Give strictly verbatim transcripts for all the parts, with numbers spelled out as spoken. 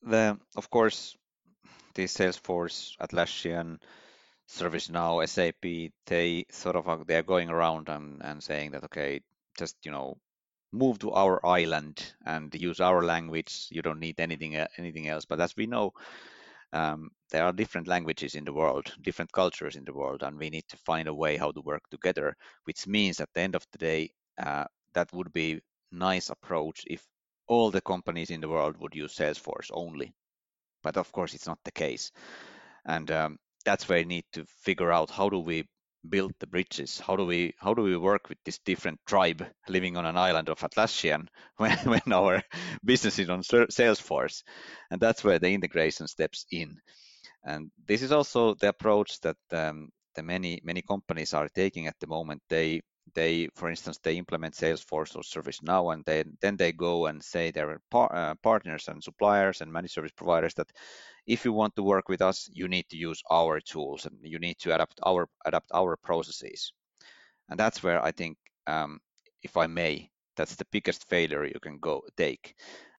the of course the Salesforce, Atlassian, ServiceNow, S A P, they sort of are, they're going around and, and saying that okay, just you know move to our island and use our language. You don't need anything anything else. But as we know, um, there are different languages in the world, different cultures in the world, and we need to find a way how to work together. Which means at the end of the day, uh, that would be nice approach if all the companies in the world would use Salesforce only. But of course, it's not the case, and um, that's where we need to figure out how do we build the bridges. How do we how do we work with this different tribe living on an island of Atlassian when, when our business is on Salesforce, and that's where the integration steps in. And this is also the approach that um, the many many companies are taking at the moment. They they, for instance, they implement Salesforce or ServiceNow, and then then they go and say their par- uh, partners and suppliers and managed service providers that if you want to work with us, you need to use our tools and you need to adapt our adapt our processes. And that's where I think, um, if I may, that's the biggest failure you can go take.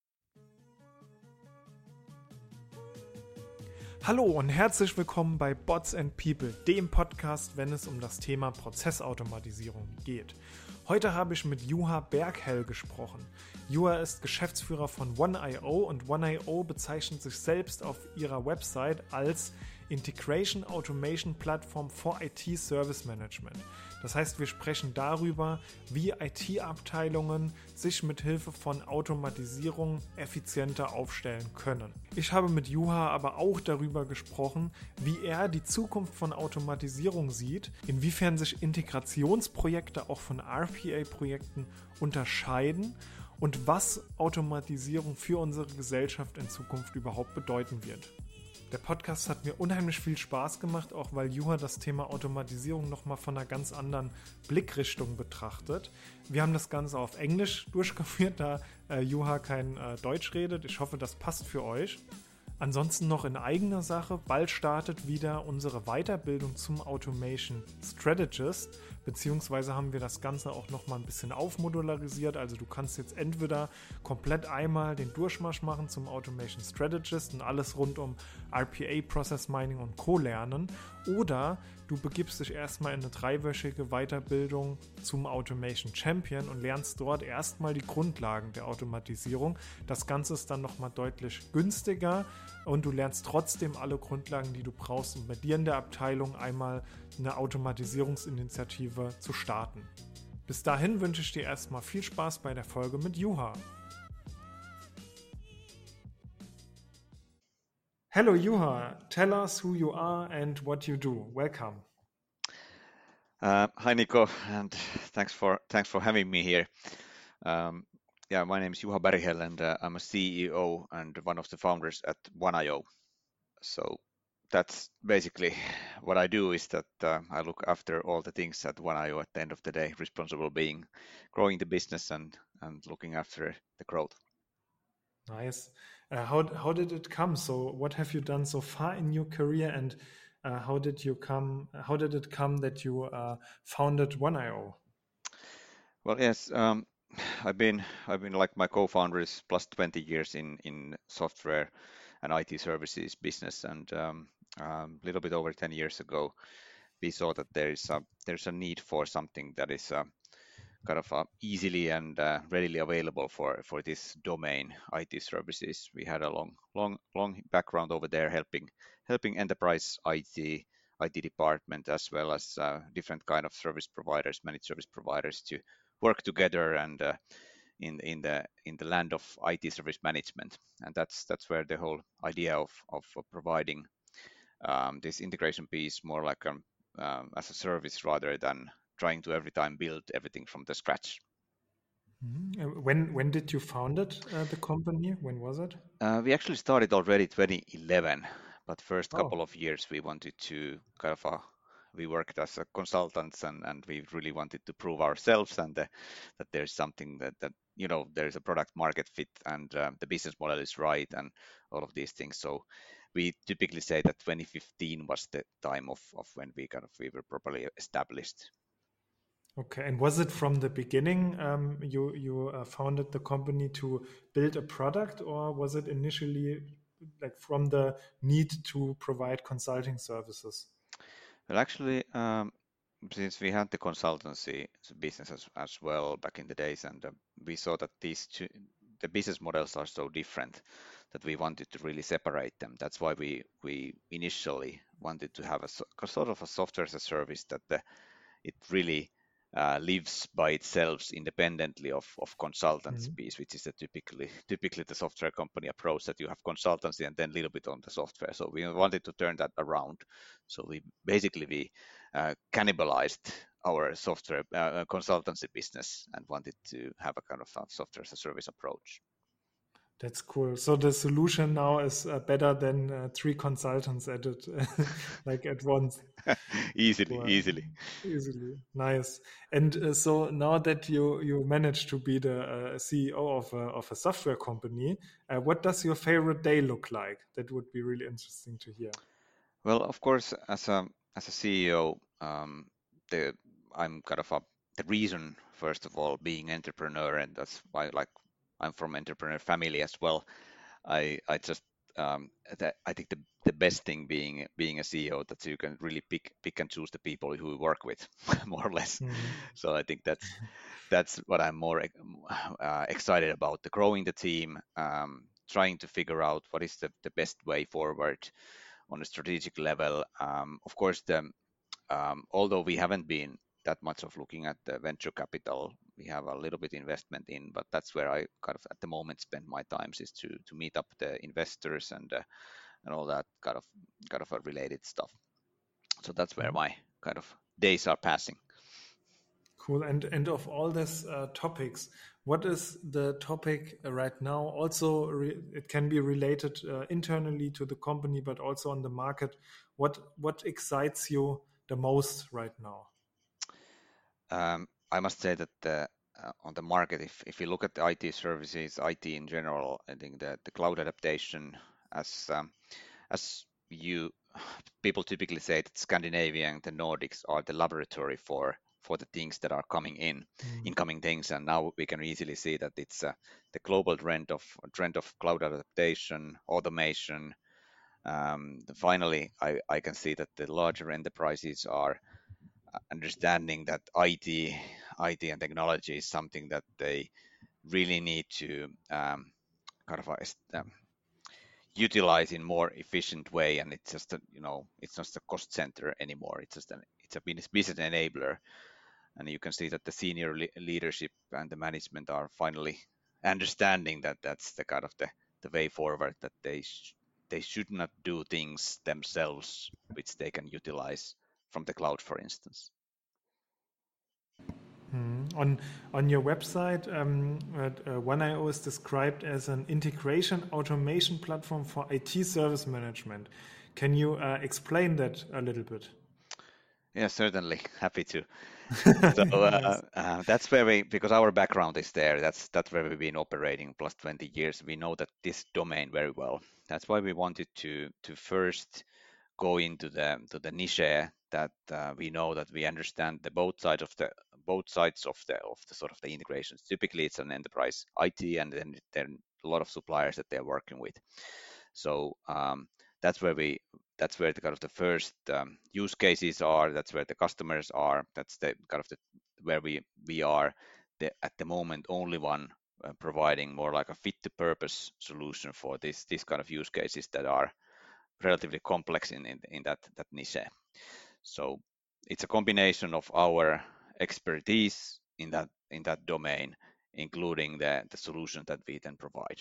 Hallo und herzlich willkommen bei Bots and People, dem Podcast, wenn es um das Thema Prozessautomatisierung geht. Heute habe ich mit Juha Berghell gesprochen. Juha ist Geschäftsführer von one I O und one I O bezeichnet sich selbst auf ihrer Website als Integration Automation Platform for I T Service Management. Das heißt, wir sprechen darüber, wie I T-Abteilungen sich mit Hilfe von Automatisierung effizienter aufstellen können. Ich habe mit Juha aber auch darüber gesprochen, wie er die Zukunft von Automatisierung sieht, inwiefern sich Integrationsprojekte auch von R P A-Projekten unterscheiden und was Automatisierung für unsere Gesellschaft in Zukunft überhaupt bedeuten wird. Der Podcast hat mir unheimlich viel Spaß gemacht, auch weil Juha das Thema Automatisierung nochmal von einer ganz anderen Blickrichtung betrachtet. Wir haben das Ganze auf Englisch durchgeführt, da äh, Juha kein äh, Deutsch redet. Ich hoffe, das passt für euch. Ansonsten noch in eigener Sache, bald startet wieder unsere Weiterbildung zum Automation Strategist, beziehungsweise haben wir das Ganze auch nochmal ein bisschen aufmodularisiert, also du kannst jetzt entweder komplett einmal den Durchmarsch machen zum Automation Strategist und alles rund um R P A, Process Mining und Co. lernen, oder du begibst dich erstmal in eine dreiwöchige Weiterbildung zum Automation Champion und lernst dort erstmal die Grundlagen der Automatisierung. Das Ganze ist dann nochmal deutlich günstiger und du lernst trotzdem alle Grundlagen, die du brauchst, um bei dir in der Abteilung einmal eine Automatisierungsinitiative zu starten. Bis dahin wünsche ich dir erstmal viel Spaß bei der Folge mit Juha. Hello Juha, tell us who you are and what you do. Welcome. Uh, hi Nico, and thanks for thanks for having me here. Um, yeah, my name is Juha Berghel, and uh, I'm a C E O and one of the founders at one I O. So that's basically what I do, is that uh, I look after all the things at one I O at the end of the day, responsible being growing the business and and looking after the growth. Nice. Uh, how how did it come? So what have you done so far in your career, and uh, how did you come? How did it come that you uh, founded one I O? Well, yes, um, I've been I've been like my co-founders plus twenty years in in software and I T services business, and um, um, a little bit over ten years ago, we saw that there is a there's a need for something that is uh, kind of uh, easily and uh, readily available for for this domain, I T services. We had a long long long background over there, helping helping enterprise I T I T department as well as uh, different kind of service providers, managed service providers, to work together and uh, in in the in the land of I T service management. And that's that's where the whole idea of of providing um, this integration piece more like um, um, as a service rather than trying to every time build everything from the scratch. Mm-hmm. When when did you found it, uh, the company? When was it? Uh, we actually started already twenty eleven, but first couple Oh, of years we wanted to kind of uh, we worked as a consultants, and, and we really wanted to prove ourselves and uh, that there's something that, that you know there's a product market fit and um, the business model is right and all of these things. So we typically say that twenty fifteen was the time of, of when we kind of we were properly established. okay. And was it from the beginning um, you you uh, founded the company to build a product, or was it initially like from the need to provide consulting services? Well, actually, um, since we had the consultancy business as, as well back in the days, and uh, we saw that these two, the business models are so different that we wanted to really separate them. That's why we we initially wanted to have a, so- a sort of a software as a service that the, it really uh, lives by itself independently of, of consultancy Mhm. piece, which is a typically typically the software company approach, that you have consultancy and then a little bit on the software. So we wanted to turn that around. So we basically we uh, cannibalized our software uh, consultancy business and wanted to have a kind of a software as a service approach. That's cool. So the solution now is uh, better than uh, three consultants at it, like at once. easily, Cool. easily. Easily. Nice. And uh, so now that you you managed to be the uh, C E O of a, of a software company, uh, what does your favorite day look like? That would be really interesting to hear. Well, of course, as a as a C E O, um, the I'm kind of a the reason, first of all, being entrepreneur, and that's why like I'm from entrepreneur family as well. I I just um, that I think the the best thing being being a C E O that you can really pick pick and choose the people who you work with, more or less. Mhm. So I think that's that's what I'm more uh, excited about: the growing the team, um, trying to figure out what is the, the best way forward on a strategic level. Um, of course, the, um, although we haven't been that much of looking at the venture capital, we have a little bit investment in, but that's where I kind of at the moment spend my times, is to to meet up the investors and uh, and all that kind of kind of a related stuff. So that's where Mhm. my kind of days are passing. Cool. And and of all these uh, topics, what is the topic uh, right now? Also, re it can be related uh, internally to the company, but also on the market. What what excites you the most right now? Um, I must say that the, uh, on the market, if, if you look at the I T services, I T in general, I think that the cloud adaptation, as um, as you people typically say that Scandinavia and the Nordics are the laboratory for for the things that are coming in, Mm. incoming things, and now we can easily see that it's uh, the global trend of trend of cloud adaptation, automation. Um, finally, I, I can see that the larger enterprises are understanding that I T, I T and technology is something that they really need to um, kind of uh, um, utilize in more efficient way, and it's just a, you know it's not a cost center anymore. It's just an it's a business business enabler, and you can see that the senior le- leadership and the management are finally understanding that that's the kind of the, the way forward, that they sh- they should not do things themselves which they can utilize from the cloud, for instance. Mm. On on your website, um, uh, one I O is described as an integration automation platform for I T service management. Can you uh, explain that a little bit? Yeah, certainly. Happy to. So uh, Nice. uh, that's where we, because our background is there, that's that's where we've been operating plus twenty years. We know that this domain very well. That's why we wanted to to first go into the to the niche that uh, we know that we understand the both sides of the both sides of the of the sort of the integrations. Typically, it's an enterprise I T, and then there are a lot of suppliers that they're working with. So um, that's where we that's where the kind of the first um, use cases are. That's where the customers are. That's the kind of the where we we are the, at the moment only one uh, providing more like a fit to purpose solution for this this kind of use cases that are relatively complex in in, in that that niche. So it's a combination of our expertise in that in that domain, including the the solution that we then provide.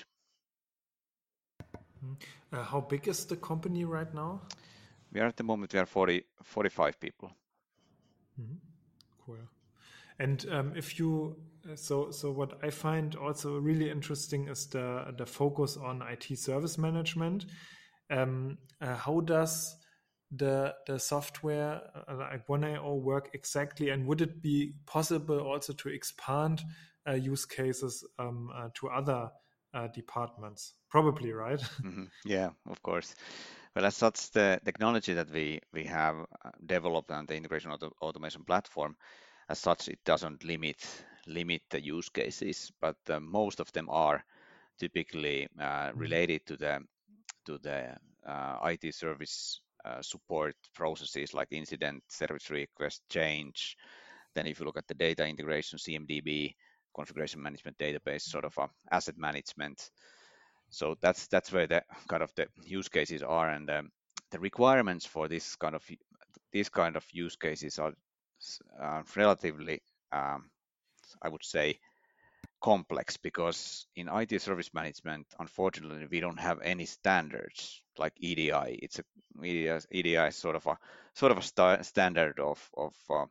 Uh, how big is the company right now? We are at the moment we are forty, forty-five people. Mhm. Cool. And um, if you uh, so so what I find also really interesting is the the focus on I T service management. Um, uh, how does the the software uh, like one I O work exactly, and would it be possible also to expand uh, use cases um, uh, to other uh, departments? Probably, right? Mhm. Yeah, of course. Well, as such, the technology that we we have uh, developed and the integration auto automation platform, as such, it doesn't limit limit the use cases, but uh, most of them are typically uh, related to the to the uh, I T service uh, support processes like incident, service request, change. Then if you look at the data integration, C M D B, configuration management database, sort of a asset management. So that's that's where the kind of the use cases are, and um, the requirements for this kind of these kind of use cases are uh, relatively, um, I would say, complex, because in I T service management, unfortunately, we don't have any standards like E D I. It's a E D I, E D I is sort of a sort of a sta- standard of of uh,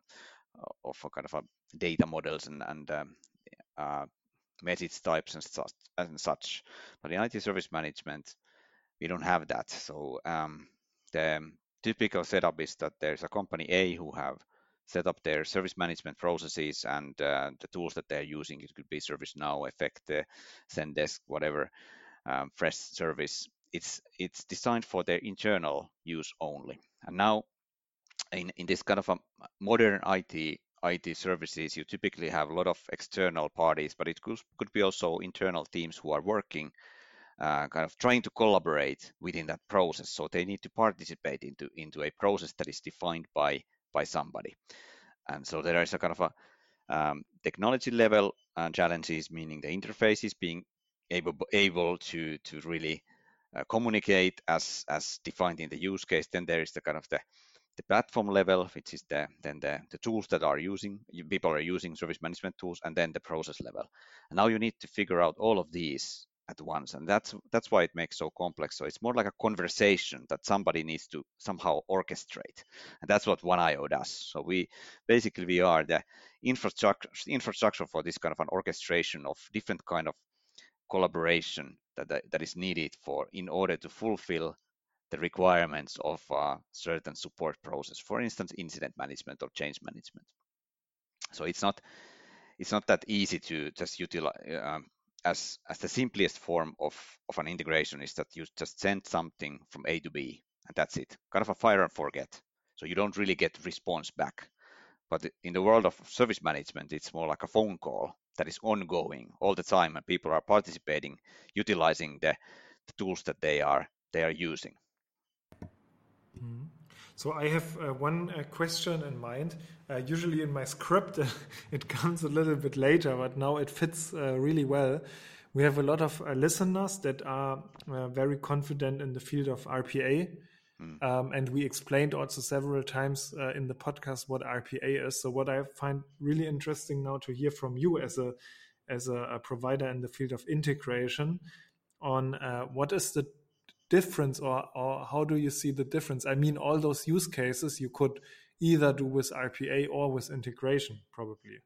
of a kind of a data models and and um, uh, message types and such and such. But in I T service management, we don't have that. So um, the typical setup is that there's a company A who have set up their service management processes and uh, the tools that they're using. It could be ServiceNow, Effecte, Zendesk, whatever, um, Freshservice. It's it's designed for their internal use only. And now, in, in this kind of a modern I T I T services, you typically have a lot of external parties, but it could, could be also internal teams who are working uh, kind of trying to collaborate within that process. So they need to participate into, into a process that is defined by, by somebody. And so there is a kind of a um, technology level uh, challenges, meaning the interfaces being able, able to, to really uh, communicate as, as defined in the use case. Then there is the kind of the the platform level, which is the then the, the tools that are using people are using service management tools, and then the process level. And now you need to figure out all of these at once, and that's that's why it makes so complex. So it's more like a conversation that somebody needs to somehow orchestrate, and that's what one I O does. So we basically we are the infrastructure infrastructure for this kind of an orchestration of different kind of collaboration that that is needed for in order to fulfill the requirements of a certain support process, for instance, incident management or change management. So it's not it's not that easy to just utilize. Um, as as the simplest form of of an integration is that you just send something from A to B, and that's it. Kind of a fire and forget. So you don't really get response back. But in the world of service management, it's more like a phone call that is ongoing all the time, and people are participating, utilizing the, the tools that they are they are using. Mm-hmm. So I have uh, one uh, question in mind. Uh, usually in my script, it comes a little bit later, but now it fits uh, really well. We have a lot of uh, listeners that are uh, very confident in the field of R P A. Mm. Um, and we explained also several times uh, in the podcast what R P A is. So what I find really interesting now to hear from you as a as a, a provider in the field of integration on uh, what is the difference, or, or how do you see the difference? I mean, all those use cases you could either do with R P A or with integration, probably.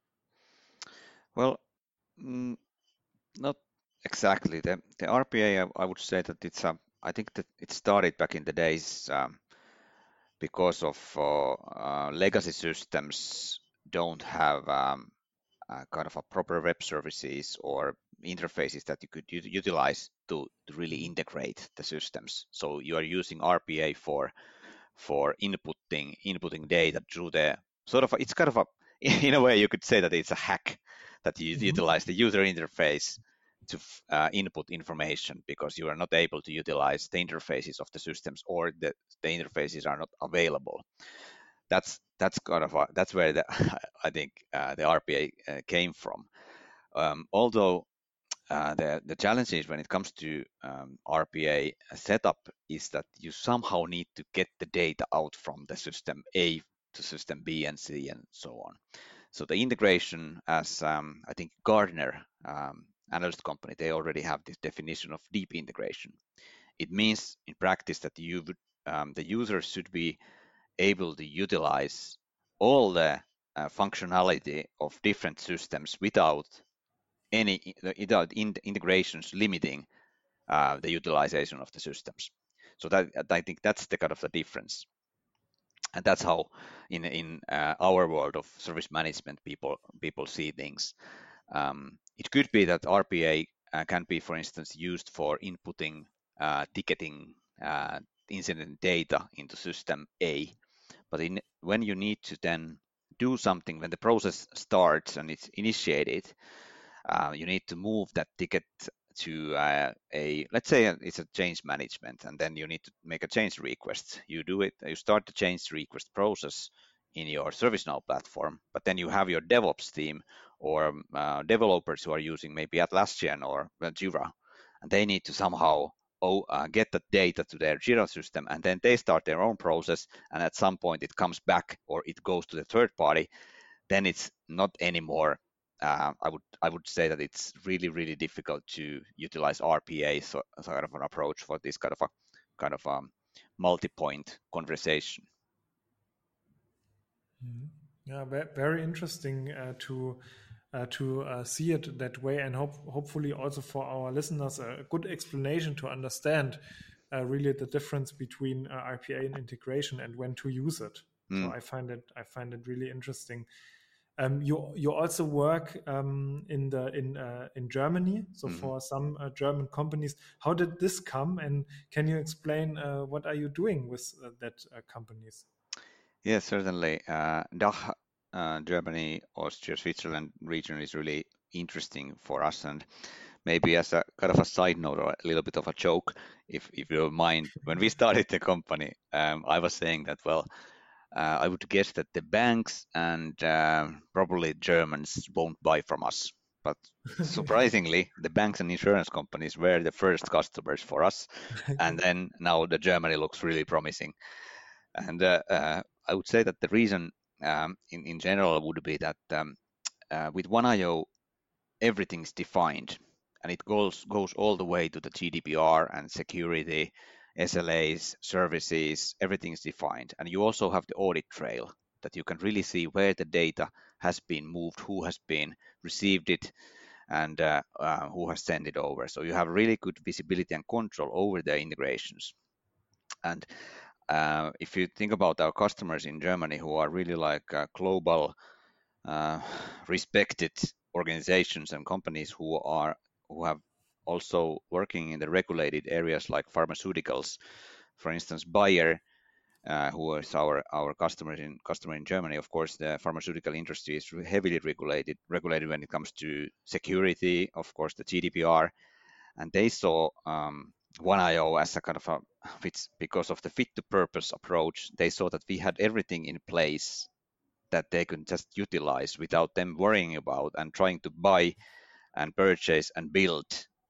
Well, mm, not exactly. The, the R P A, I, I would say that it's a, I think that it started back in the days um, because of uh, uh, legacy systems don't have um, uh, kind of a proper web services or interfaces that you could u- utilize to, to really integrate the systems. So you are using R P A for for inputting inputting data through the sort of a, it's kind of a in a way you could say that it's a hack that you mm-hmm. utilize the user interface to uh, input information, because you are not able to utilize the interfaces of the systems, or the, the interfaces are not available. That's that's kind of a, that's where the, I think uh, the R P A uh, came from. Um, although uh, the the challenges when it comes to um, R P A setup is that you somehow need to get the data out from the system A to system B and C and so on. So the integration, as um, I think Gartner um, analyst company, they already have this definition of deep integration. It means in practice that you would, um, the user should be able to utilize all the uh, functionality of different systems without any without in integrations limiting uh, the utilization of the systems. So that I think that's the kind of the difference, and that's how in in uh, our world of service management people people see things. Um, it could be that R P A uh, can be, for instance, used for inputting uh, ticketing uh, incident data into system A, but in, when you need to then do something, when the process starts and it's initiated, uh, you need to move that ticket to uh, a, let's say it's a change management, and then you need to make a change request. You do it, you start the change request process in your ServiceNow platform, but then you have your DevOps team or uh, developers who are using maybe Atlassian or Jira, and they need to somehow oh, uh, get the data to their Jira system, and then they start their own process, and at some point it comes back or it goes to the third party. Then it's not anymore. Uh, I would I would say that it's really really difficult to utilize R P A so, sort of an approach for this kind of a kind of um, multi-point conversation. Mm-hmm. Yeah, very interesting uh, to uh, to uh, see it that way, and hope, hopefully also for our listeners a good explanation to understand uh, really the difference between uh, R P A and integration and when to use it. Mm. So I find it I find it really interesting. Um, you you also work um, in the in uh, in Germany, so mm-hmm. for some uh, German companies. How did this come, and can you explain uh, what are you doing with uh, that uh, companies? Yes, certainly. Uh, D A C H, uh, Germany, Austria, Switzerland region is really interesting for us. And maybe as a kind of a side note or a little bit of a joke, if, if you don't mind, when we started the company, um, I was saying that, well, uh, I would guess that the banks and uh, probably Germans won't buy from us. But surprisingly, the banks and insurance companies were the first customers for us. And then now the Germany looks really promising. And uh, uh, I would say that the reason um, in, in general would be that um, uh, with one I O, everything's defined, and it goes goes all the way to the G D P R and security, S L As, services, everything's defined. And you also have the audit trail that you can really see where the data has been moved, who has been received it, and uh, uh, who has sent it over. So you have really good visibility and control over the integrations. And Uh, if you think about our customers in Germany who are really like uh, global, uh, respected organizations and companies who are who have also working in the regulated areas like pharmaceuticals, for instance, Bayer, uh, who is our our customer in customer in Germany. Of course, the pharmaceutical industry is heavily regulated regulated when it comes to security, of course, the G D P R, and they saw um, one I O as a kind of a fits because of the fit to purpose approach. They saw that we had everything in place that they could just utilize without them worrying about and trying to buy and purchase and build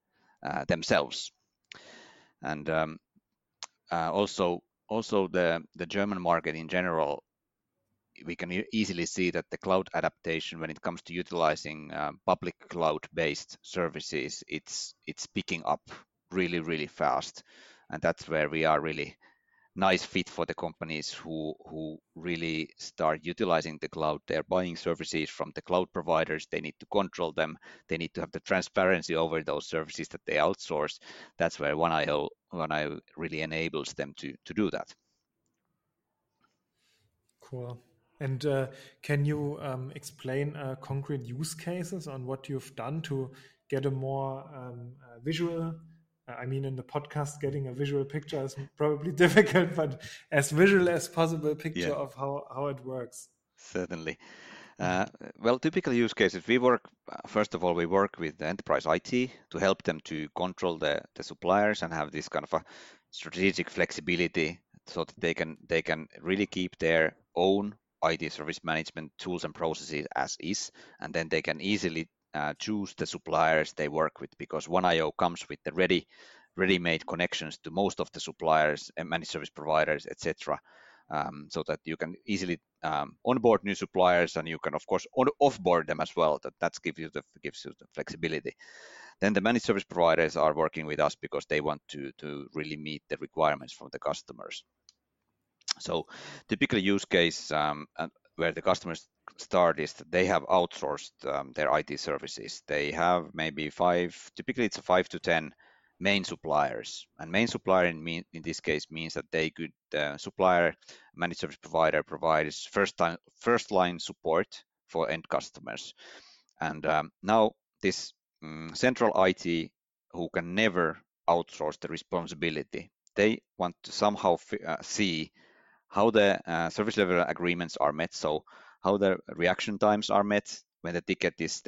uh, themselves. And um, uh, also, also the the German market in general, we can easily see that the cloud adaptation, when it comes to utilizing uh, public cloud-based services, it's it's picking up really really fast, and that's where we are really nice fit for the companies who who really start utilizing the cloud. They're buying services from the cloud providers. They need to control them. They need to have the transparency over those services that they outsource. That's where one I O one I O really enables them to to do that. Cool. And uh, can you um, explain uh, concrete use cases on what you've done to get a more um, uh, visual? Uh, I mean, in the podcast, getting a visual picture is probably difficult, but as visual as possible picture yeah. of how, how it works. Certainly. Uh, well, typical use cases, we work, first of all, we work with the enterprise I T to help them to control the, the suppliers and have this kind of a strategic flexibility so that they can they can really keep their own I T service management tools and processes as is, and then they can easily uh, choose the suppliers they work with, because one I O comes with the ready ready-made connections to most of the suppliers and managed service providers, et cetera. Um, so that you can easily um, onboard new suppliers, and you can of course on offboard them as well. That that gives you the gives you the flexibility. Then the managed service providers are working with us because they want to to really meet the requirements from the customers. So typical use case um, where the customers start is that they have outsourced um, their I T services. They have maybe five, typically it's a five to ten main suppliers. And main supplier in, mean, in this case means that they could, uh, supplier, managed service provider provides first time, first line support for end customers. And um, now this um, central I T who can never outsource the responsibility, they want to somehow uh, see how the uh, service level agreements are met, so how the reaction times are met when the ticket is then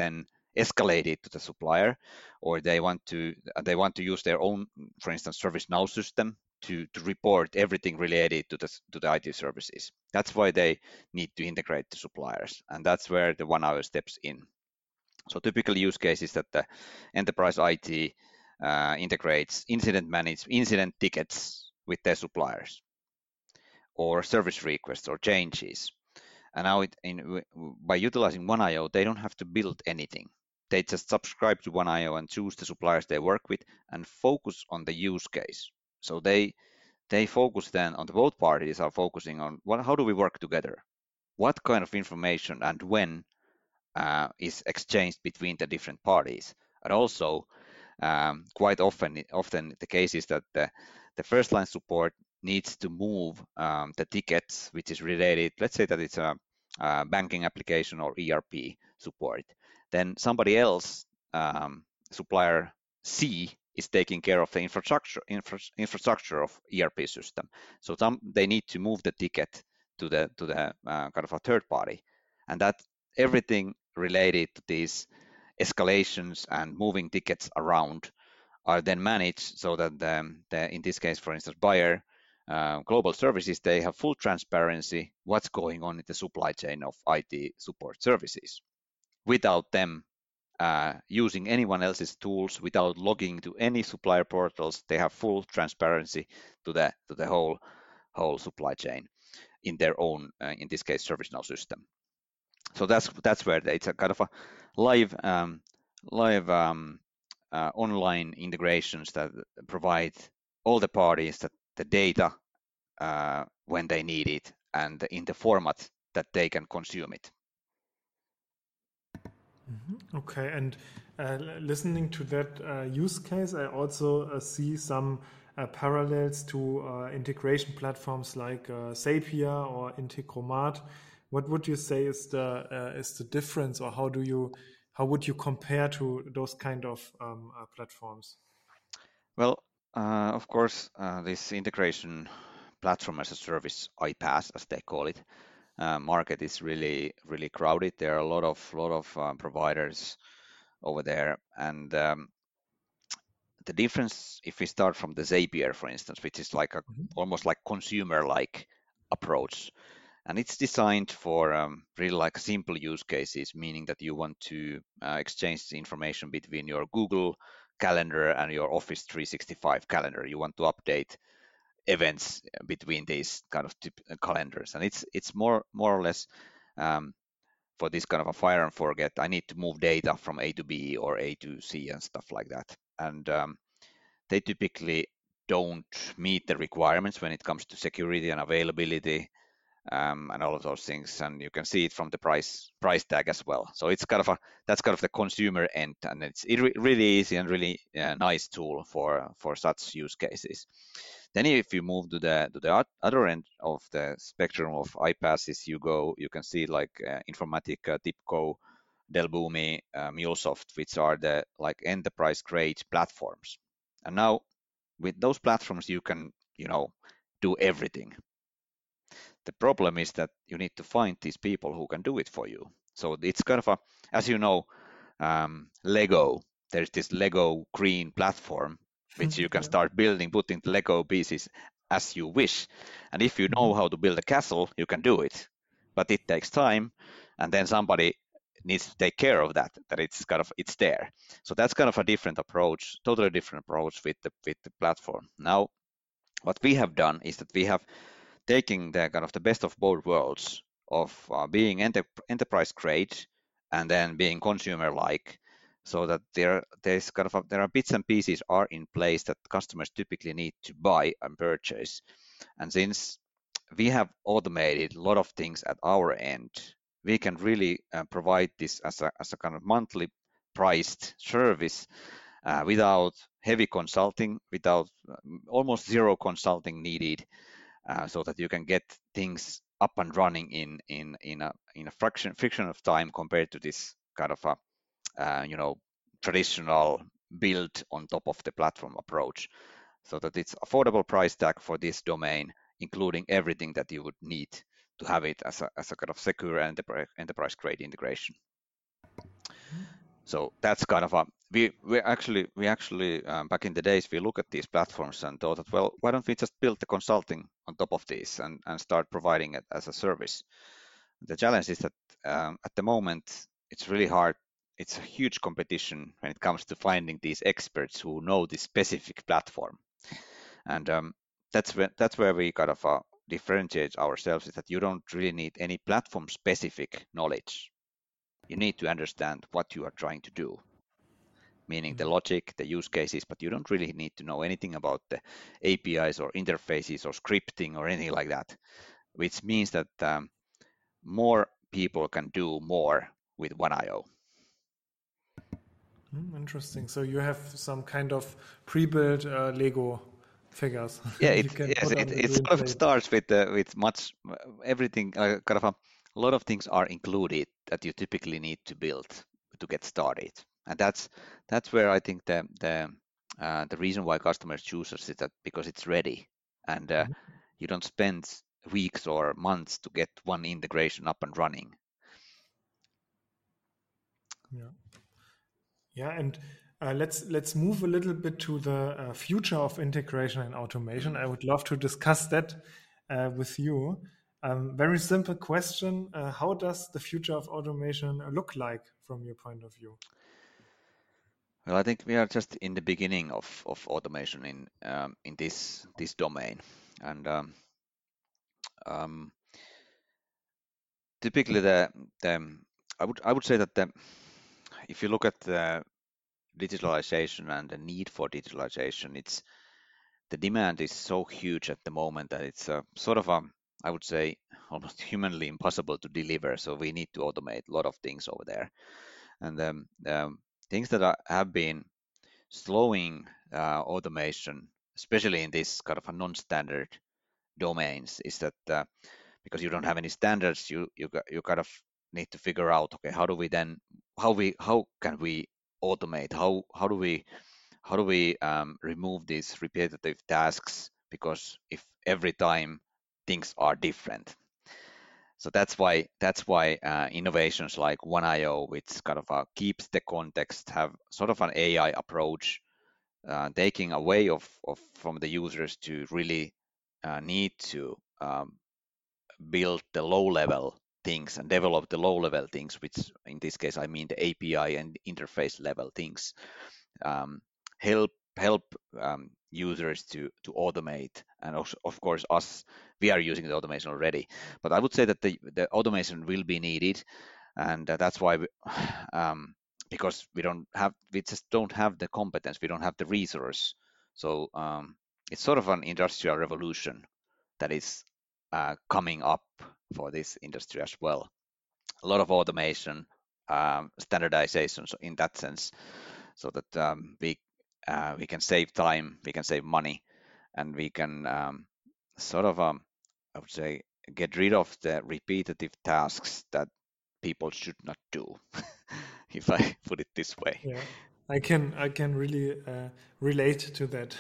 escalate it to the supplier, or they want to they want to use their own, for instance, ServiceNow system to to report everything related to the to the I T services. That's why they need to integrate the suppliers, and that's where the one hour steps in. So typical use case is that the enterprise I T uh, integrates incident manage incident tickets with their suppliers, or service requests or changes. And now it, in, by utilizing one I O, they don't have to build anything. They just subscribe to one I O and choose the suppliers they work with and focus on the use case. So they they focus then on the both parties are focusing on what, how do we work together? What kind of information and when uh, is exchanged between the different parties? And also, um, quite often, often the case is that the, the first line support needs to move um, the tickets, which is related, let's say that it's a, a banking application or E R P support. Then somebody else, um, supplier C, is taking care of the infrastructure infra, infrastructure of E R P system. So some, they need to move the ticket to the to the uh, kind of a third party, and that everything related to these escalations and moving tickets around are then managed so that the, the in this case, for instance, buyer uh, global services, they have full transparency what's going on in the supply chain of I T support services without them uh, using anyone else's tools, without logging to any supplier portals. They have full transparency to the to the whole whole supply chain in their own, uh, in this case, ServiceNow system. So that's that's where it's a kind of a live um, live um, uh, online integrations that provide all the parties that the data uh, when they need it and in the format that they can consume it. Mm-hmm. Okay, and uh, listening to that uh, use case, I also uh, see some uh, parallels to uh, integration platforms like uh, Zapier or Integromat. What would you say is the uh, is the difference, or how do you how would you compare to those kind of um, uh, platforms? Well, uh, of course, uh, this integration platform as a service, iPaaS as they call it, uh, market is really really crowded. There are a lot of lot of um, providers over there, and um, the difference, if we start from the Zapier, for instance, which is like a mm-hmm. almost like consumer-like approach, and it's designed for um, really like simple use cases, meaning that you want to uh, exchange the information between your Google Calendar and your Office three sixty-five calendar. You want to update events between these kind of calendars, and it's it's more more or less um, for this kind of a fire and forget. I need to move data from A to B or A to C and stuff like that, and um, they typically don't meet the requirements when it comes to security and availability. Um, and all of those things, and you can see it from the price price tag as well. So it's kind of a that's kind of the consumer end, and it's it re- really easy and really uh, nice tool for for such use cases. Then if you move to the to the other end of the spectrum of iPaaSes, you go you can see like uh, Informatica, TIBCO, Delboomi, uh, MuleSoft, which are the like enterprise grade platforms. And now with those platforms, you can you know do everything. The problem is that you need to find these people who can do it for you. So it's kind of a, as you know, um, Lego. There's this Lego green platform which you can start building, putting the Lego pieces as you wish. And if you know how to build a castle, you can do it. But it takes time, and then somebody needs to take care of that. That it's kind of it's there. So that's kind of a different approach, totally different approach with the with the platform. Now, what we have done is that we have taking the kind of the best of both worlds of uh, being enter- enterprise grade and then being consumer like, so that there there's kind of a, there are bits and pieces are in place that customers typically need to buy and purchase. And since we have automated a lot of things at our end, we can really uh, provide this as a as a kind of monthly priced service uh, without heavy consulting, without um, almost zero consulting needed. Uh, so that you can get things up and running in in in a in a fraction fraction of time compared to this kind of a uh, you know traditional build on top of the platform approach, so that it's affordable price tag for this domain, including everything that you would need to have it as a as a kind of secure enterprise enterprise grade integration. So that's kind of a we we actually we actually um, back in the days we look at these platforms and thought that, well, why don't we just build the consulting on top of these and and start providing it as a service. The challenge is that um, at the moment it's really hard. It's a huge competition when it comes to finding these experts who know this specific platform, and um, that's where that's where we kind of uh, differentiate ourselves. Is that you don't really need any platform specific knowledge. You need to understand what you are trying to do, meaning the logic, the use cases, but you don't really need to know anything about the A P Is or interfaces or scripting or anything like that, which means that um, more people can do more with one I O. Hmm, interesting. So you have some kind of pre-built uh, Lego figures Yeah, you it can yes, put on it, the it green sort of plate. starts with uh, with much everything uh, kind of a, a lot of things are included that you typically need to build to get started, and that's that's where I think the the uh, the reason why customers choose us is that because it's ready, and uh, Mhm. you don't spend weeks or months to get one integration up and running. Yeah. Yeah, and uh, let's let's move a little bit to the uh, future of integration and automation. Mm. I would love to discuss that uh, with you. Um, very simple question: uh, How does the future of automation look like from your point of view? Well, I think we are just in the beginning of, of automation in um, in this this domain, and um, um, typically the the I would I would say that the if you look at the digitalization and the need for digitalization, it's the demand is so huge at the moment that it's a sort of a I would say almost humanly impossible to deliver. So we need to automate a lot of things over there, and um, um, things that are, have been slowing uh, automation, especially in this kind of a non-standard domains, is that uh, because you don't have any standards, you you you kind of need to figure out, okay, how do we then how we how can we automate? How how do we how do we um, remove these repetitive tasks? Because if every time things are different, so that's why that's why uh, innovations like one I O, which kind of uh, keeps the context, have sort of an A I approach, uh, taking away of, of from the users to really uh, need to um, build the low level things and develop the low level things, which in this case I mean the A P I and interface level things. Um, help help um, users to to automate, and also, of course us, we are using the automation already. But I would say that the the automation will be needed, and uh, that's why we, um, because we don't have we just don't have the competence, we don't have the resource. So um, it's sort of an industrial revolution that is uh, coming up for this industry as well. A lot of automation, um, standardization, so in that sense, so that um, we uh, we can save time, we can save money, and we can um, sort of um, I would say get rid of the repetitive tasks that people should not do, if I put it this way. Yeah, I can I can really uh, relate to that.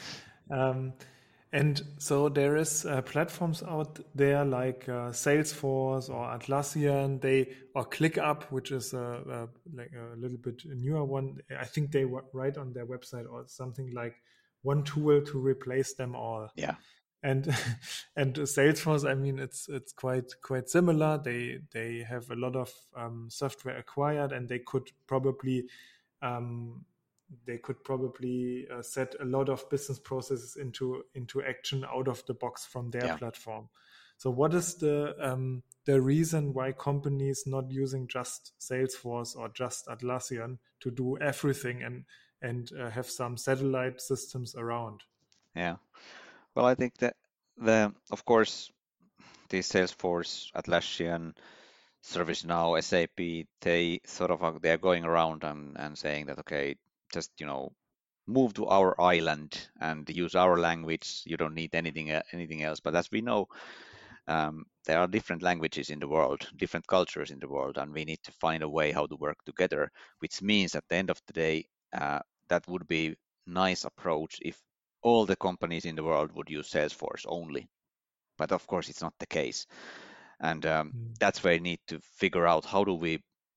um, and so there is uh, platforms out there like uh, Salesforce or Atlassian, they or ClickUp, which is a, a, like a little bit newer one. I think they were write on their website or something like one tool to replace them all. Yeah, And and Salesforce, I mean, it's it's quite quite similar. They they have a lot of um, software acquired, and they could probably um, they could probably uh, set a lot of business processes into into action out of the box from their yeah. platform. So, what is the um, the reason why companies not using just Salesforce or just Atlassian to do everything and and uh, have some satellite systems around? Yeah. Well, I think that the of course the Salesforce, Atlassian, ServiceNow, S A P, they sort of are, they're going around and, and saying that, okay, just you know move to our island and use our language. You don't need anything e- anything else. But as we know, um, there are different languages in the world, different cultures in the world, and we need to find a way how to work together. Which means at the end of the day, uh, that would be nice approach if all the companies in the world would use Salesforce only. But of course, it's not the case, and um, Mm. that's where we need to figure out how do we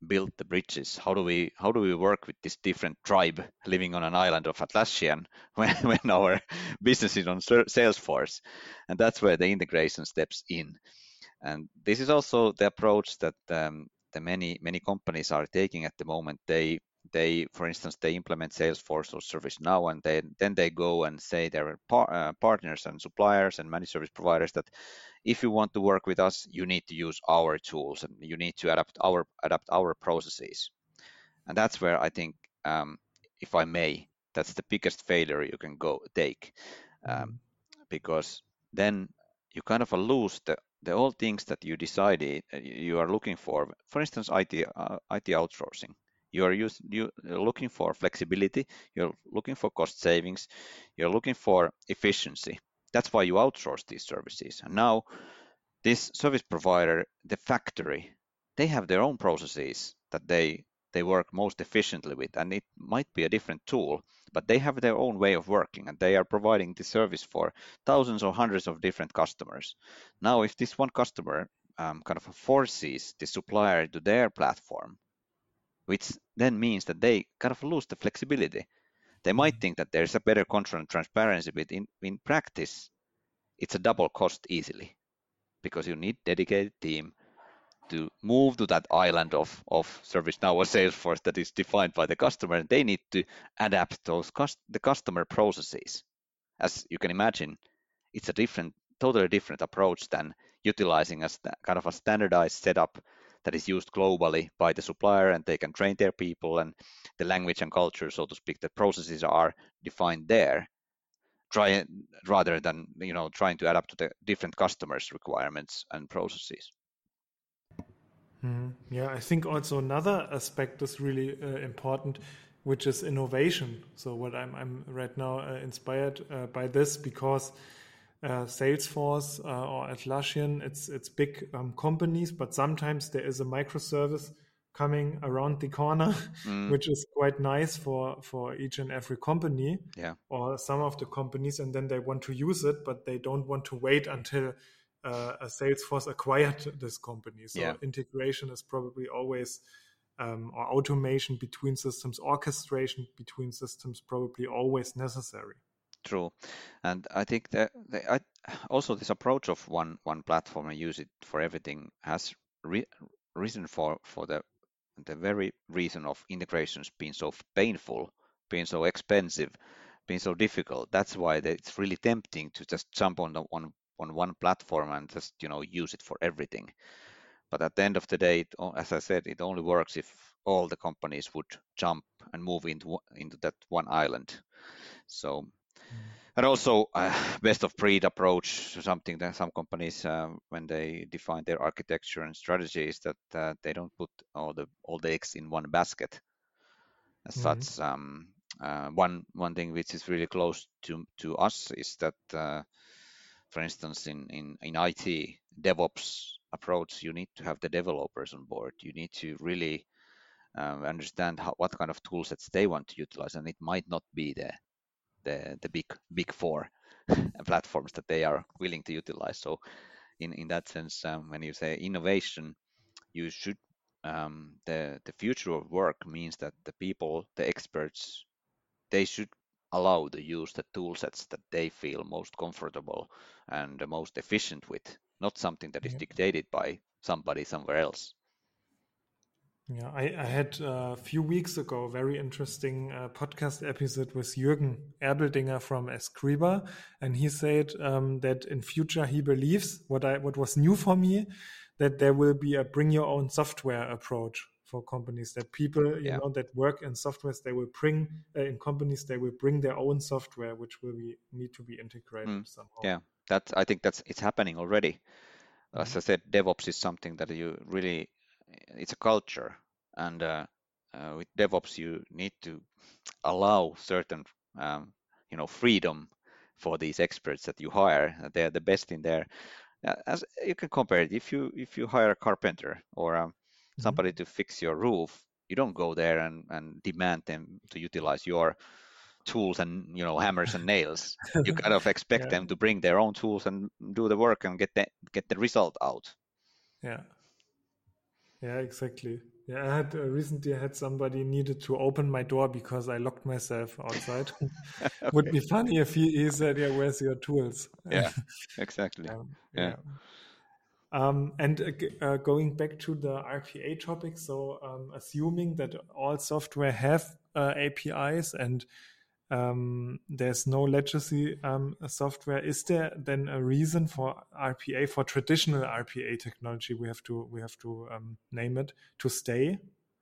build the bridges? How do we how do we work with this different tribe living on an island of Atlassian when, when our business is on Salesforce? And that's where the integration steps in. And this is also the approach that um, the many many companies are taking at the moment. They they, for instance, they implement Salesforce or ServiceNow, and they, then they go and say their par uh, partners and suppliers and managed service providers that if you want to work with us, you need to use our tools and you need to adapt our adapt our processes. And that's where I think, um, if I may, that's the biggest failure you can go take, um, mm-hmm. because then you kind of lose the the all things that you decided you are looking for. For instance, I T uh, I T outsourcing. You are use, you, you're looking for flexibility. You're looking for cost savings. You're looking for efficiency. That's why you outsource these services. And now, this service provider, the factory, they have their own processes that they they work most efficiently with, and it might be a different tool, but they have their own way of working, and they are providing the service for thousands or hundreds of different customers. Now, if this one customer um, kind of forces the supplier to their platform, which then means that they kind of lose the flexibility. They might think that there's a better control and transparency, but in, in practice, it's a double cost easily, because you need dedicated team to move to that island of, of ServiceNow or Salesforce that is defined by the customer, and they need to adapt those cost, the customer processes. As you can imagine, it's a different, totally different approach than utilizing a kind of a standardized setup that is used globally by the supplier, and they can train their people, and the language and culture, so to speak, the processes are defined there. Try rather than you know trying to adapt to the different customers' requirements and processes. Mm, yeah, I think also another aspect is really uh, important, which is innovation. So what I'm I'm right now uh, inspired uh, by this, because uh, Salesforce uh, or Atlassian, it's it's big um, companies, but sometimes there is a microservice coming around the corner, mm. which is quite nice for for each and every company, yeah. or some of the companies, and then they want to use it, but they don't want to wait until Uh, a Salesforce acquired this company. So yeah. integration is probably always, um, or automation between systems, orchestration between systems, probably always necessary. True, and I think that I, also this approach of one one platform and use it for everything has re, reason for for the the very reason of integrations being so painful, being so expensive, being so difficult. That's why it's really tempting to just jump on the one on one platform and just you know use it for everything. But at the end of the day, it, as I said, it only works if all the companies would jump and move into into that one island. So, mm. and also uh, best of breed approach, something that some companies, uh, when they define their architecture and strategies, that uh, they don't put all the all the eggs in one basket. As mm-hmm. such, um, uh, one one thing which is really close to to us is that. Uh, For instance, in, in, in I T, DevOps approach, you need to have the developers on board. You need to really um, understand how, what kind of tool sets they want to utilize, and it might not be the the, the big big four platforms that they are willing to utilize. So, in, in that sense, um, when you say innovation, you should um, the the future of work means that the people, the experts, they should allow to use the tool sets that they feel most comfortable and the most efficient with, not something that is yeah. dictated by somebody somewhere else. Yeah, I, I had uh, a few weeks ago a very interesting uh, podcast episode with Jürgen Erbeldinger from Escriba, and he said um, that in future he believes, what I what was new for me, that there will be a bring your own software approach for companies, that people you yeah. know that work in softwares, they will bring uh, in companies they will bring their own software, which will be need to be integrated mm. somehow. Yeah, that I think that's it's happening already. As mm-hmm. I said, DevOps is something that you really, it's a culture, and uh, uh, with DevOps you need to allow certain um, you know freedom for these experts that you hire. They're the best in there. As you can compare it, if you if you hire a carpenter or um, somebody mm-hmm. to fix your roof, you don't go there and, and demand them to utilize your tools and you know hammers and nails. You kind of expect yeah. them to bring their own tools and do the work and get the get the result out. Yeah. Yeah, exactly. Yeah, I had uh, recently I had somebody needed to open my door because I locked myself outside. Would Okay. be funny if he, he said, "Yeah, where's your tools?" Yeah, exactly. Um, Yeah. yeah. Um, and uh, g- uh, going back to the R P A topic, so um, assuming that all software have uh, A P Is and um, there's no legacy um, software, is there then a reason for R P A, for traditional R P A technology, we have to we have to um, name it, to stay?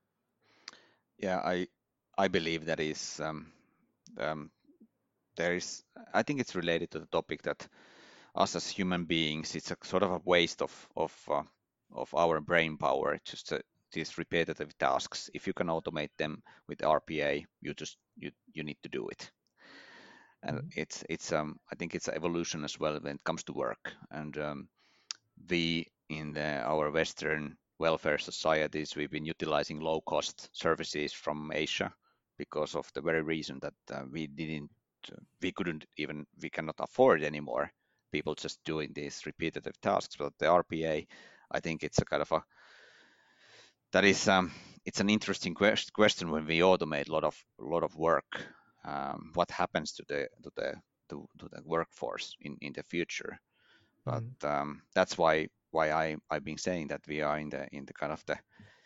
Yeah, I I believe that is um, um, there is. I think it's related to the topic that us as human beings, it's a sort of a waste of of uh, of our brain power just to these repetitive tasks. If you can automate them with R P A, you just you you need to do it. And Mhm. it's it's um I think it's an evolution as well when it comes to work. And um, we in the, our Western welfare societies, we've been utilizing low cost services from Asia because of the very reason that uh, we didn't we couldn't even we cannot afford anymore people just doing these repetitive tasks. But the R P A, I think it's a kind of a that is um it's an interesting quest- question when we automate a lot of a lot of work. Um, what happens to the to the to, to the workforce in in the future? But Mhm. um, that's why why I I've been saying that we are in the in the kind of the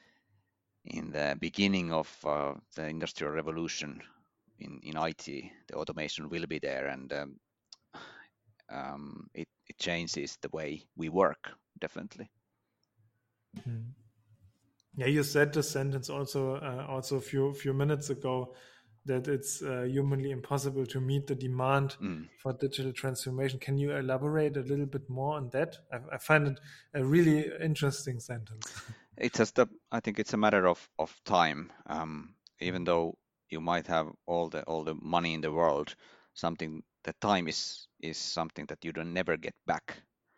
in the beginning of uh, the industrial revolution in in I T. The automation will be there, and um, um, it it changes the way we work definitely. Mhm. Yeah, you said this sentence also uh, also a few few minutes ago, that it's uh, humanly impossible to meet the demand Mm. for digital transformation. Can you elaborate a little bit more on that? I, I find it a really interesting sentence. It's just a, I think it's a matter of of time. Um, even though you might have all the all the money in the world, something the time is is something that you don't never get back.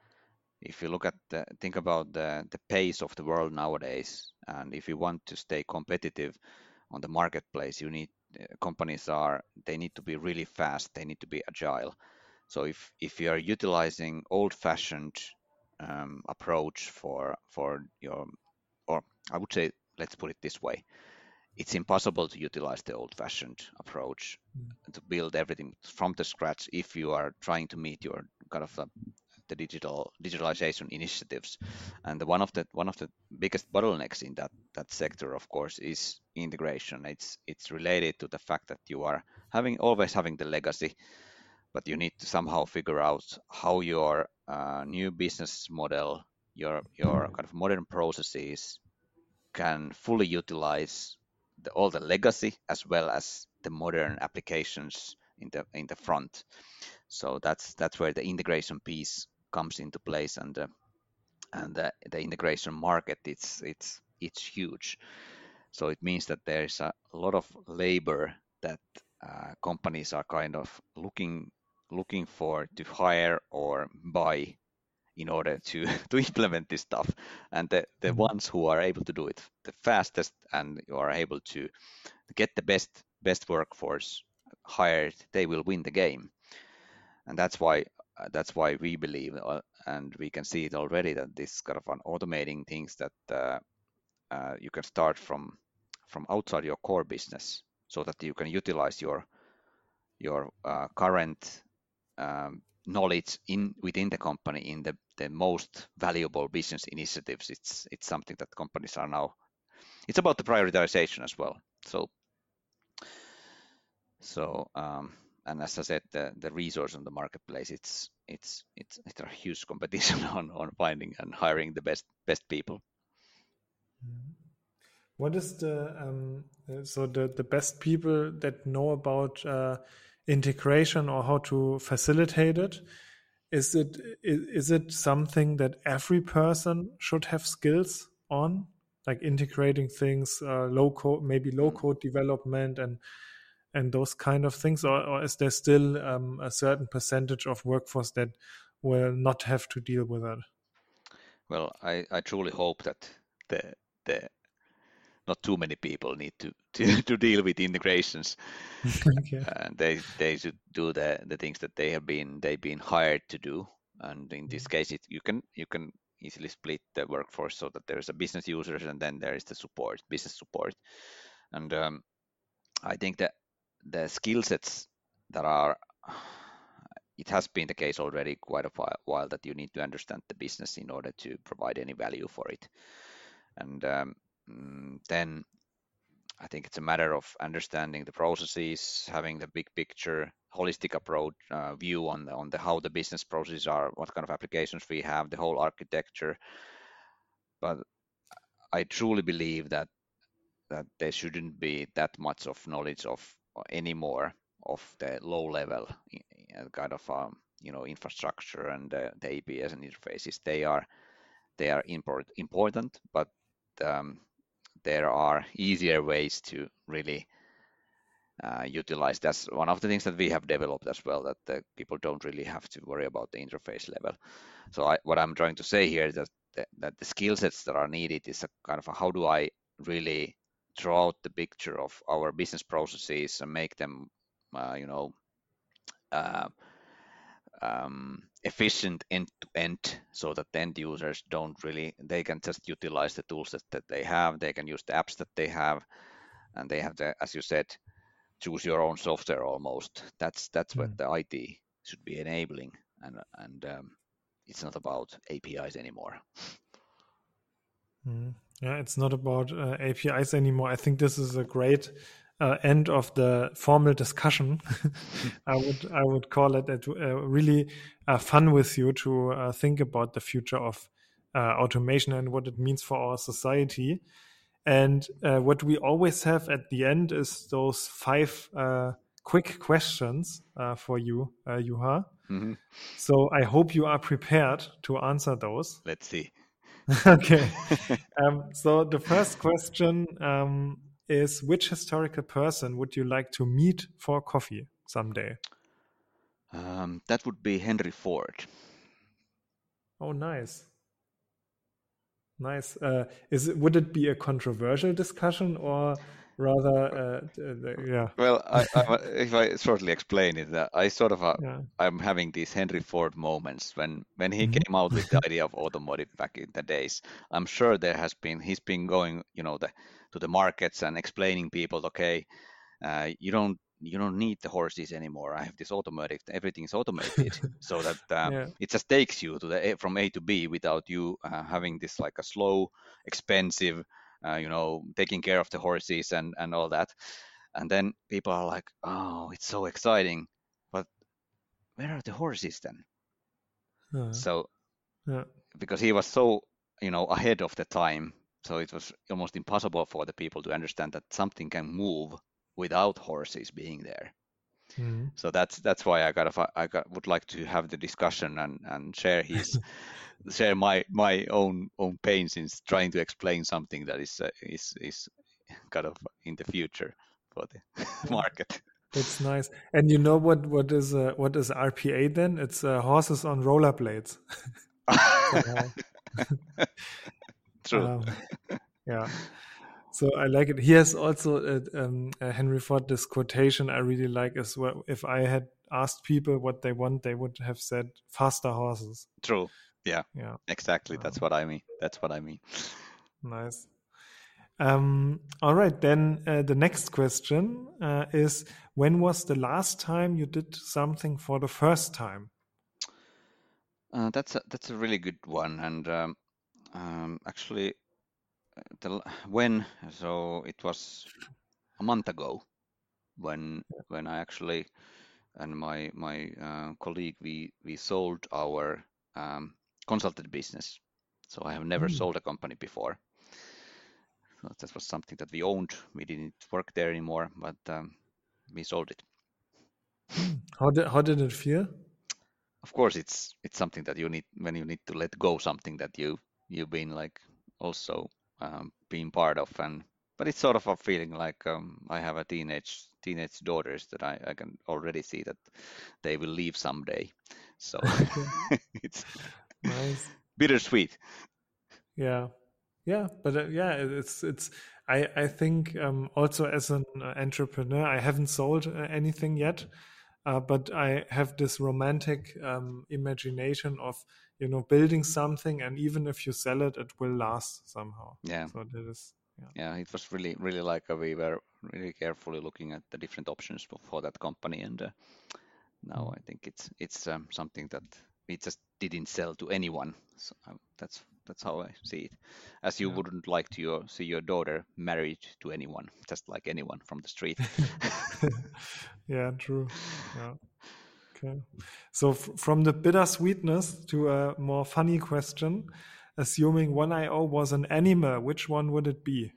If you look at the think about the the pace of the world nowadays, and if you want to stay competitive on the marketplace, you need uh, companies are they need to be really fast, they need to be agile. So if if you are utilizing old-fashioned um, approach for for your, or I would say, let's put it this way, it's impossible to utilize the old-fashioned approach to build everything from the scratch if you are trying to meet your kind of uh, the digital digitalization initiatives. And the, one of the one of the biggest bottlenecks in that that sector, of course, is integration. It's it's related to the fact that you are having always having the legacy, but you need to somehow figure out how your uh, new business model, your your kind of modern processes can fully utilize the, all the legacy as well as the modern applications in the in the front. So that's that's where the integration piece comes into place, and uh, and the, the integration market it's it's it's huge. So it means that there is a lot of labor that uh, companies are kind of looking looking for to hire or buy in order to to implement this stuff. And the the Mhm. ones who are able to do it the fastest and you are able to get the best best workforce hired, they will win the game. And that's why uh, that's why we believe, uh, and we can see it already, that this kind of an automating things that uh, uh, you can start from from outside your core business, so that you can utilize your your uh, current um, knowledge in within the company in the, the most valuable business initiatives. It's it's something that companies are now. It's about the prioritization as well. So so um, and as I said, the, the resource on the marketplace, it's it's it's it's a huge competition on, on finding and hiring the best best people. What is the um, uh, so the the best people that know about uh, integration or how to facilitate it? Is it is, is it something that every person should have skills on, like integrating things, uh, low code, maybe low Mm. code development and and those kind of things, or, or is there still um, a certain percentage of workforce that will not have to deal with that? Well, I, I truly hope that the the not too many people need to, to, to deal with integrations, Okay. and they they should do the, the things that they have been they've been hired to do. And in this case, it, you can you can easily split the workforce so that there's a business users and then there is the support, business support. And um, I think that the skill sets that are, it has been the case already quite a while that you need to understand the business in order to provide any value for it. And um, then I think it's a matter of understanding the processes, having the big picture, holistic approach, uh, view on the, on the how the business processes are, what kind of applications we have, the whole architecture. But I truly believe that that there shouldn't be that much of knowledge of anymore of the low level kind of um, you know infrastructure and uh, the A P Is and interfaces. They are they are import, important, but um, there are easier ways to really uh, utilize. That's one of the things that we have developed as well, that the people don't really have to worry about the interface level. So I, what I'm trying to say here is that the, that the skill sets that are needed is a kind of a, how do I really draw out the picture of our business processes and make them, uh, you know, uh, um, efficient end to end, so that the end users don't really, they can just utilize the tools that, that they have, they can use the apps that they have, and they have the, as you said, choose your own software almost. That's that's mm. what the I T should be enabling, and and um, it's not about A P Is anymore. Mm. Yeah, it's not about uh, A P Is anymore. I think this is a great uh, end of the formal discussion. I would I would call it it uh, really uh, fun with you to uh, think about the future of uh, automation and what it means for our society. And uh, what we always have at the end is those five uh, quick questions uh, for you, uh, Juha. Mm-hmm. So I hope you are prepared to answer those. Let's see. Okay. um, so the first question um, is, which historical person would you like to meet for coffee someday? Um, that would be Henry Ford. Oh, nice. Nice. Uh, is it, would it be a controversial discussion or rather, uh, uh, yeah? Well, I, I, if I shortly explain it, uh, I sort of, uh, yeah. I'm having these Henry Ford moments when, when he mm-hmm. came out with the idea of automotive back in the days. I'm sure there has been, he's been going, you know, the, to the markets and explaining people, okay, uh, you don't, you don't need the horses anymore. I have this automatic, everything's automated, so that uh, yeah. it just takes you to the from A to B without you uh, having this like a slow, expensive, uh, you know, taking care of the horses and, and all that. And then people are like, oh, it's so exciting, but where are the horses then? Uh, so, yeah. because he was so, you know, ahead of the time, so it was almost impossible for the people to understand that something can move without horses being there. Mm-hmm. So that's that's why I got I got, would like to have the discussion and, and share his share my my own own pains in trying to explain something that is uh, is is kind of in the future for the market. That's nice. And you know what what is uh, what is R P A then? It's uh, horses on rollerblades. True. Um, yeah. So I like it. He has also uh, um, uh, Henry Ford, this quotation I really like as well. If I had asked people what they want, they would have said faster horses. True. Yeah. Yeah. Exactly. That's um, what I mean. That's what I mean. Nice. Um, all right. Then uh, the next question uh, is, when was the last time you did something for the first time? Uh, that's a, that's a really good one. And um, um, actually, The, when so it was a month ago when when I actually and my my uh, colleague we we sold our um, consultant business. So I have never mm. sold a company before. So that was something that we owned. We didn't work there anymore, but um, we sold it. How did how did it feel? Of course, it's it's something that you need when you need to let go something that you you've been like also. Um, being part of, and but it's sort of a feeling like um, I have a teenage teenage daughters that I, I can already see that they will leave someday, so it's nice, bittersweet. Yeah, yeah, but uh, yeah, it's it's. I I think um, also as an entrepreneur, I haven't sold uh, anything yet, uh, but I have this romantic um, imagination of, you know, building something, and even if you sell it, it will last somehow. Yeah. So that is, yeah. Yeah, it was really, really like uh, we were really carefully looking at the different options for, for that company, and uh, now mm. I think it's it's um, something that we just didn't sell to anyone. So um, that's that's how I see it. As you yeah. wouldn't like to your, see your daughter married to anyone, just like anyone from the street. Yeah, true. Yeah. Okay. So f- from the bittersweetness to a more funny question, assuming one I O was an animal, which one would it be?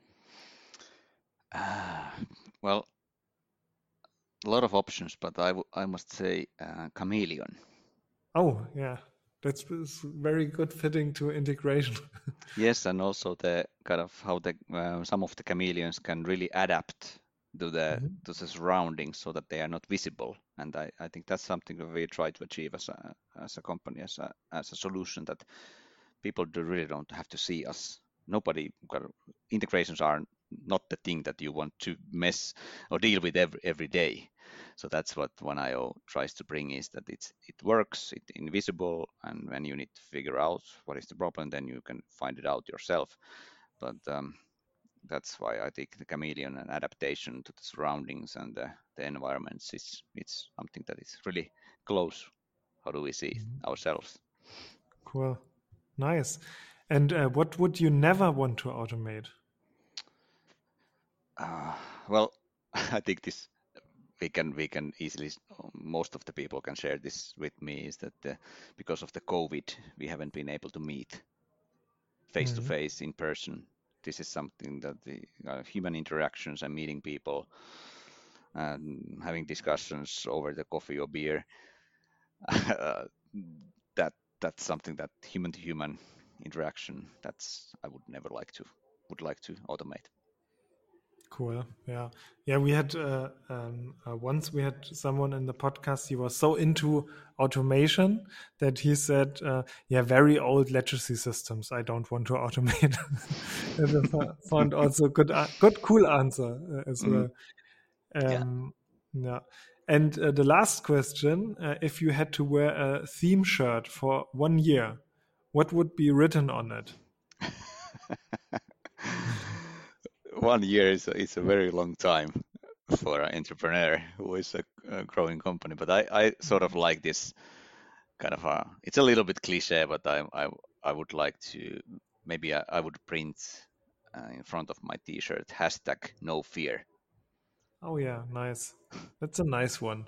Uh, well, a lot of options, but I, w- I must say uh, chameleon. Oh, yeah. That's very good fitting to integration. Yes, and also the kind of how the uh, some of the chameleons can really adapt to the mm-hmm. to the surroundings so that they are not visible, and I, I think that's something that we try to achieve as a as a company, as a as a solution, that people do really don't have to see us. Nobody integrations are not the thing that you want to mess or deal with every every day. So that's what one I O tries to bring, is that it's it works, it's invisible, and when you need to figure out what is the problem, then you can find it out yourself. But um, that's why I think the chameleon and adaptation to the surroundings and the, the environments is it's something that is really close. How do we see it ourselves? Cool, nice. And uh, what would you never want to automate? Uh, well, I think this. We can we can easily, most of the people can share this with me, is that uh, because of the COVID, we haven't been able to meet face to face in person. This is something that the uh, human interactions and meeting people and having discussions over the coffee or beer, uh, that that's something that human to human interaction, that's I would never like to would like to automate. Cool. Yeah. Yeah. We had uh, um, uh, once we had someone in the podcast. He was so into automation that he said, uh, yeah, very old legacy systems I don't want to automate. And I found also good, uh, good, cool answer uh, as well. Mm-hmm. Um, yeah. yeah. And uh, the last question, uh, if you had to wear a theme shirt for one year, what would be written on it? One year is a, is a very long time for an entrepreneur who is a, a growing company. But I, I sort of like this kind of a, it's a little bit cliche, but I I, I would like to, maybe I, I would print uh, in front of my t-shirt, hashtag no fear. Oh yeah, nice. That's a nice one.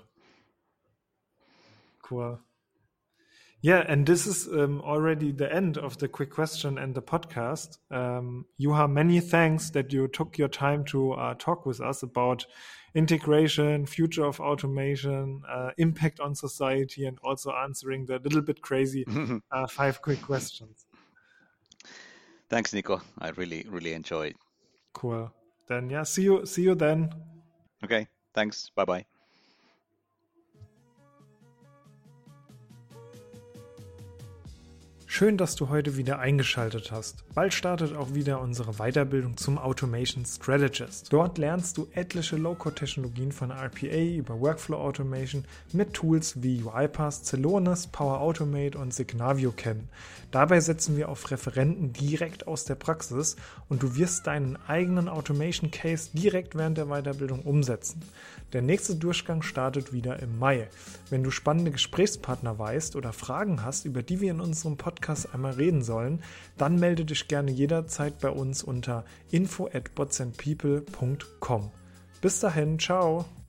Cool. Yeah, and this is um, already the end of the quick question and the podcast. Um, Juha, many thanks that you took your time to uh, talk with us about integration, future of automation, uh, impact on society, and also answering the little bit crazy uh, five quick questions. Thanks, Nico. I really, really enjoyed. Cool. Then yeah, see you, see you then. Okay, thanks. Bye-bye. Schön, dass du heute wieder eingeschaltet hast. Bald startet auch wieder unsere Weiterbildung zum Automation Strategist. Dort lernst du etliche Low-Code-Technologien von R P A über Workflow Automation mit Tools wie UiPath, Celonis, Power Automate und Signavio kennen. Dabei setzen wir auf Referenten direkt aus der Praxis und du wirst deinen eigenen Automation Case direkt während der Weiterbildung umsetzen. Der nächste Durchgang startet wieder im Mai. Wenn du spannende Gesprächspartner weißt oder Fragen hast, über die wir in unserem Podcast einmal reden sollen, dann melde dich gerne jederzeit bei uns unter info at bots and people punkt com. Bis dahin, ciao!